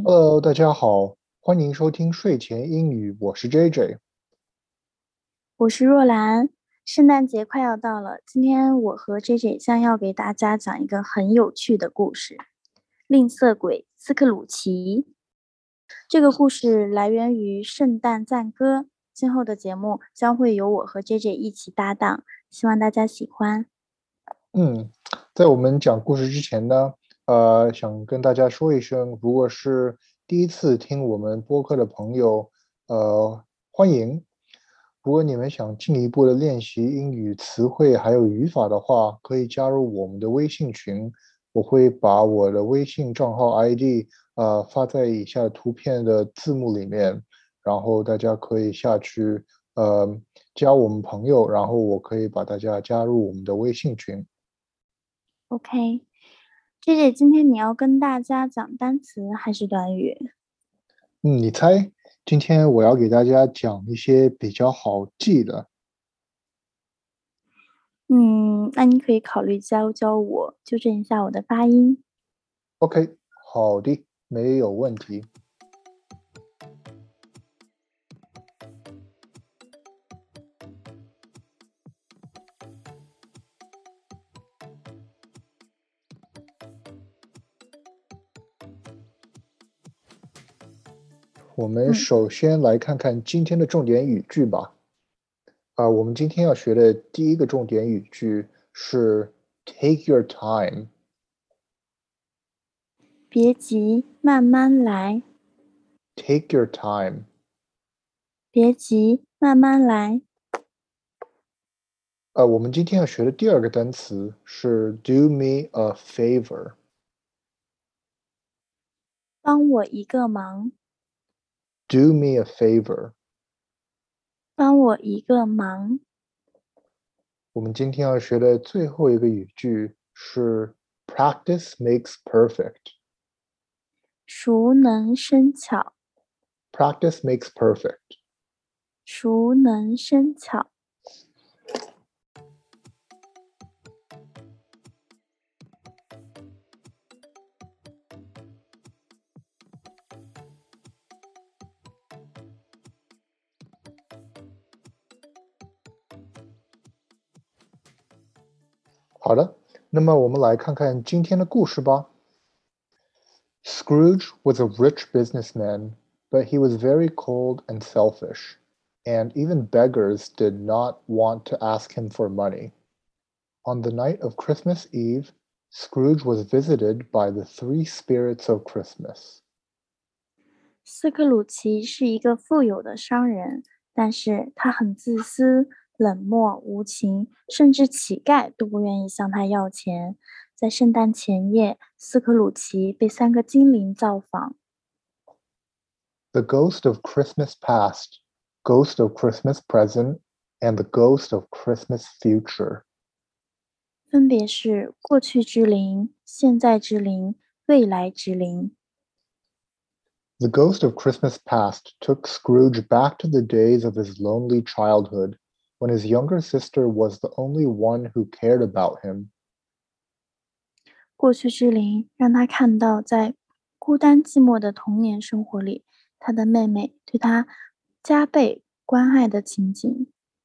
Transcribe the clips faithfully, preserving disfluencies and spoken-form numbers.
Hello，大家好，欢迎收听睡前英语，我是 J J。 我是若兰，圣诞节快要到了，今天我和 J J 将要给大家讲一个很有趣的故事——吝啬鬼斯克鲁奇。这个故事来源于《圣诞赞歌》，今后的节目将会由我和 J J 一起搭档，希望大家喜欢。 嗯，在我们讲故事之前呢，呃，想跟大家说一声，如果是第一次听我们播客的朋友，呃，欢迎。如果你们想进一步的练习英语词汇还有语法的话，可以加入我们的微信群，我会把我的微信账号 I D 呃发在以下图片的字幕里面，然后大家可以下去呃加我们朋友，然后我可以把大家加入我们的微信群。 OK，J J，今天你要跟大家讲单词还是短语？ 嗯，你猜，今天我要给大家讲一些比较好记的。 嗯，那你可以考虑教教我，纠正一下我的发音。 OK，好的，没有问题。我们嗯。 首先来看看今天的重点语句吧。啊，我们今天要学的第一个重点语句是 "Take your time"。 别急，慢慢来。 Take your time。 别急，慢慢来。 呃，我们今天要学的第二个单词是 "Do me a favor"。 帮我一个忙。 Do me a favor。 帮我一个忙。 我们今天要学的最后一个语句是 "Practice makes perfect"。 熟能生巧。 Practice makes perfect。 熟能生巧。 好的，那么我们来看看今天的故事吧。Scrooge was a rich businessman, but he was very cold and selfish, and even beggars did not want to ask him for money. On the night of Christmas Eve, Scrooge was visited by the three spirits of Christmas. 斯克鲁奇是一个富有的商人，但是他很自私、冷漠、无情，甚至乞丐都不愿意向他要钱。在圣诞前夜，斯克鲁奇被三个精灵造访。 The ghost of Christmas past, ghost of Christmas present, and the ghost of Christmas future. 分别是过去之灵、现在之灵、未来之灵。 The ghost of Christmas past took Scrooge back to the days of his lonely childhood, when his younger sister was the only one who cared about him. 过去之灵让他看到，在孤单寂寞的童年生活里，他的妹妹对他加倍关爱的情景。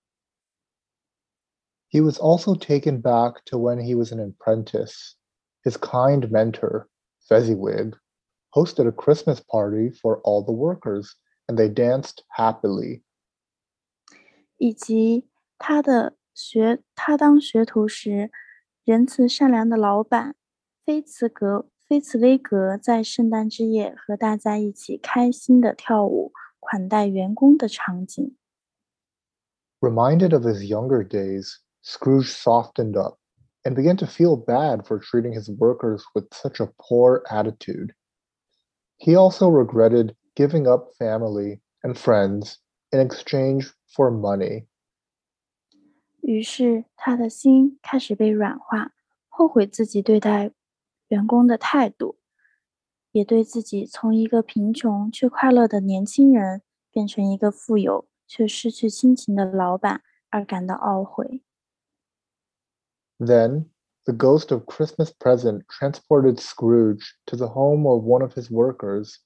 He was also taken back to when he was an apprentice. His kind mentor, Fezziwig, hosted a Christmas party for all the workers, and they danced happily. 以及他的学，他当学徒时，仁慈善良的老板菲茨格菲茨威格在圣诞之夜和大家一起开心的跳舞，款待员工的场景。 Reminded of his younger days, Scrooge softened up and began to feel bad for treating his workers with such a poor attitude. He also regretted giving up family and friends in exchange for money. 于是他的心开始被软化，后悔自己对待员工的态度，也对自己从一个贫穷却快乐的年轻人变成一个富有却失去亲情的老板而感到懊悔。 Then, the ghost of Christmas present transported Scrooge to the home of one of his workers,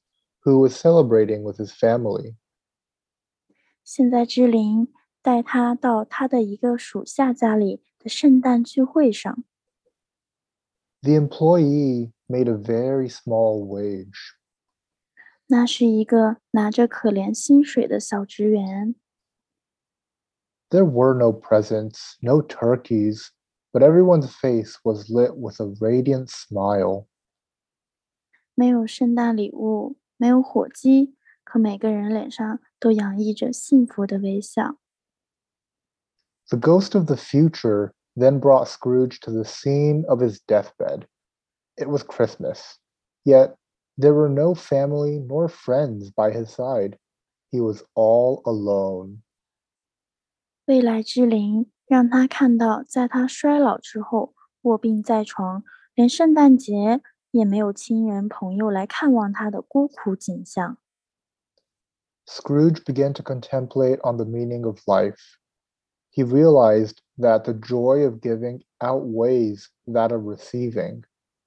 who was celebrating with his family. 现在之灵带他到他的一个属下家里的圣诞聚会上。 The employee made a very small wage. 那是一个拿着可怜薪水的小职员。 There were no presents, no turkeys, but everyone's face was lit with a radiant smile. 没有圣诞礼物，没有火鸡，可每个人脸上都洋溢着幸福的微笑。 The ghost of the future then brought Scrooge to the scene of his deathbed. It was Christmas, yet there were no family nor friends by his side. He was all alone. 未来之灵让他看到，在他衰老之后，卧病在床，连圣诞节也没有亲人朋友来看望他的孤苦景象。 Scrooge began to contemplate on the meaning of life. He realized that the joy of giving outweighs that of receiving.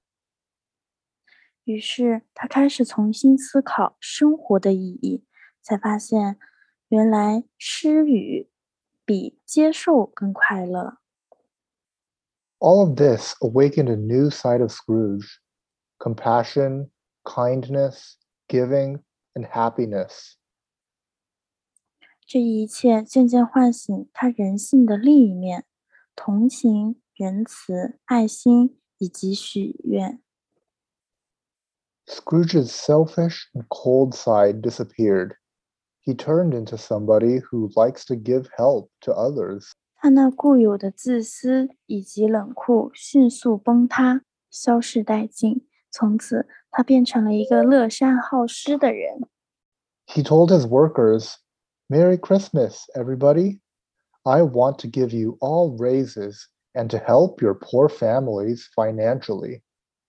于是他开始重新思考生活的意义，才发现原来施予比接受更快乐。 All of this awakened a new side of Scrooge: compassion, kindness, giving, and happiness. 这一切渐渐唤醒他人性的另一面：同情、仁慈、爱心以及许愿。 Scrooge's selfish and cold side disappeared. He turned into somebody who likes to give help to others. 他那固有的自私以及冷酷迅速崩塌，消逝殆尽。从此，他变成了一个乐善好施的人。 He told his workers, "Merry Christmas, everybody. I want to give you all raises and to help your poor families financially."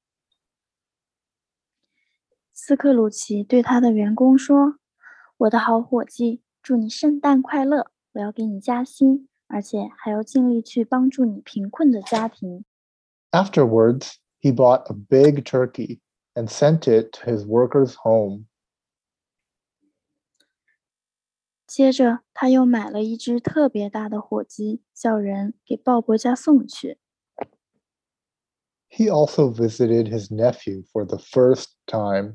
斯克鲁奇对他的员工说：“我的好伙计，祝你圣诞快乐！我要给你加薪，而且还要尽力去帮助你贫困的家庭。” Afterwards, he bought a big turkey and sent it to his workers' home. 接着，他又买了一只特别大的火鸡，叫人给鲍勃家送去。 He also visited his nephew for the first time.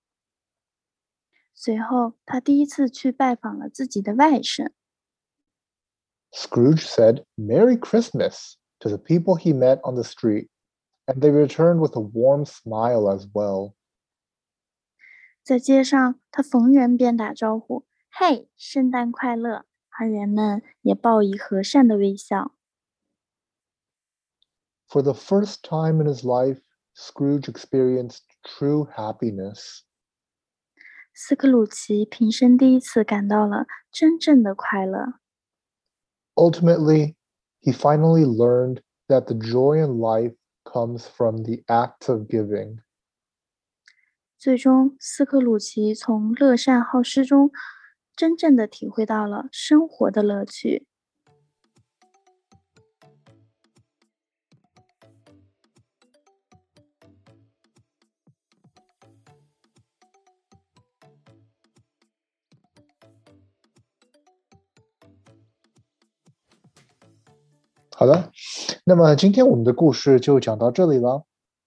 随后，他第一次去拜访了自己的外甥。 Scrooge said, "Merry Christmas" to the people he met on the street, and they returned with a warm smile as well. 在街上，他逢人便打招呼：“嘿，圣诞快乐！”而人们也报以和善的微笑。 For the first time in his life, Scrooge experienced true happiness. 斯克鲁奇平生第一次感到了真正的快乐。 Ultimately, he finally learned that the joy in life comes from the act of giving. 最终，斯克鲁奇从乐善好施中真正的体会到了生活的乐趣。 好的，那么今天我们的故事就讲到这里了。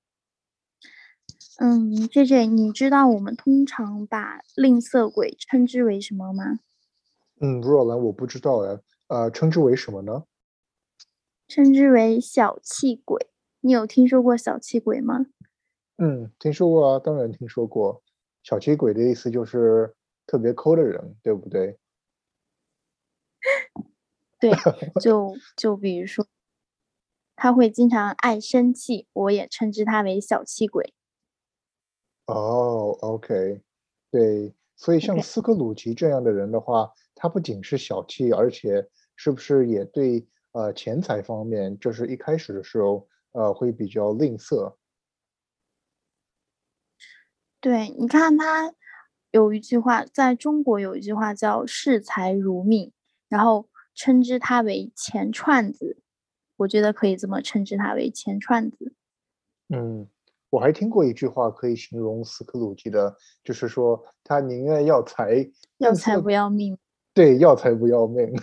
嗯，J J，你知道我们通常把吝啬鬼称之为什么吗？ 嗯，若兰，我不知道哎，呃，称之为什么呢？ 称之为小气鬼。你有听说过小气鬼吗？ 嗯，听说过啊，当然听说过。小气鬼的意思就是特别抠的人，对不对？ 对，就就比如说，他会经常爱生气，我也称之他为小气鬼。 哦，OK，对，所以像 OK， 斯克鲁奇这样的人的话，他不仅是小气，而且是不是也对呃钱财方面，就是一开始的时候呃会比较吝啬？ 对，你看他有一句话，在中国有一句话叫视财如命，然后称之他为钱串子。我觉得可以这么称之他为钱串子。 嗯， 我还听过一句话可以形容斯克鲁吉的，就是说他宁愿要财， 要财不要命。 对，要财不要命。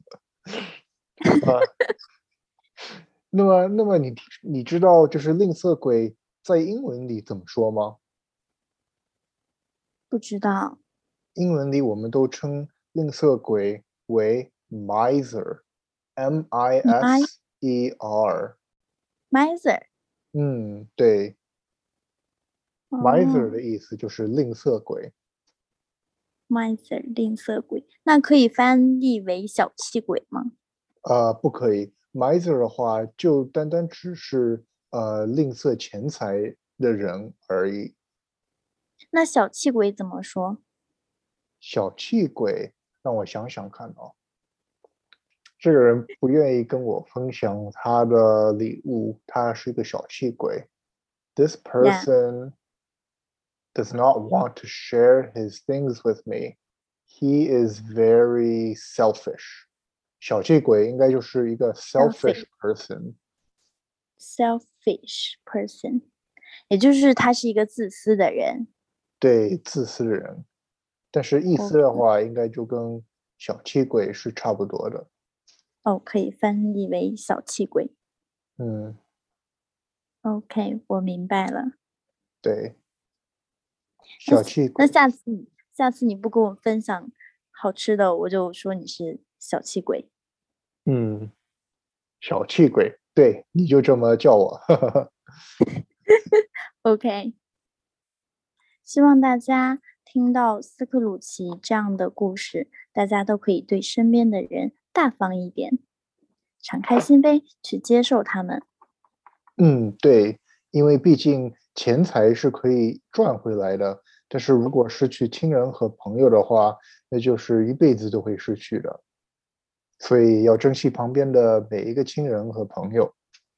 啊，那么，那么你你知道就是吝啬鬼在英文里怎么说吗？ 不知道。 英文里我们都称吝啬鬼为 miser，M I 你 I S E R。 miser。 嗯，对，miser 哦的意思就是吝啬鬼。 ，miser 吝啬鬼，那可以翻译为小气鬼吗？ 呃，不可以，miser 的话就单单只是呃吝啬钱财的人而已。 那小气鬼怎么说？ 小气鬼，让我想想看啊，这个人不愿意跟我分享他的礼物，他是一个小气鬼。This Yeah. person does not want to share his things with me. He is very selfish. 小气鬼应该就是一个 selfish person。 selfish person，也就是他是一个自私的人。 对，自私的人。但是意思的话，应该就跟小气鬼是差不多的。 哦，可以翻译为小气鬼。 嗯， OK， 我明白了。 对，小气鬼。 那下次，下次你不跟我分享好吃的，我就说你是小气鬼。 嗯，小气鬼，对，你就这么叫我。 OK，希望大家听到斯克鲁奇这样的故事，大家都可以对身边的人大方一点，敞开心扉去接受他们。 嗯，对，因为毕竟钱财是可以赚回来的，但是如果失去亲人和朋友的话，那就是一辈子都会失去的。所以要珍惜旁边的每一个亲人和朋友。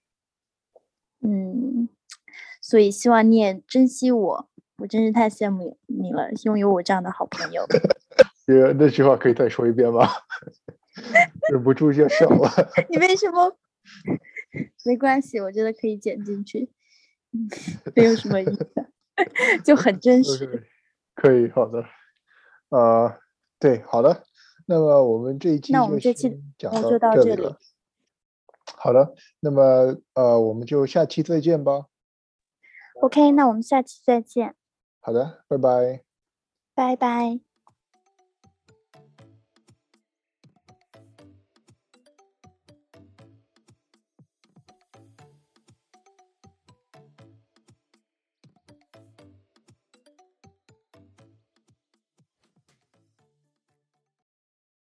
嗯，所以希望你也珍惜我，我真是太羡慕你了，拥有我这样的好朋友。 呃，那句话可以再说一遍吗？忍不住就笑了。 你为什么？没关系，我觉得可以剪进去，没有什么意思，就很真实。 Okay, 可以，好的。呃，对，好的。那么我们这一期那我就们这期先讲就就到这里。 这里了。好的，那么呃，我们就下期再见吧。 OK，那我们下期再见。 好的，拜拜。 拜拜。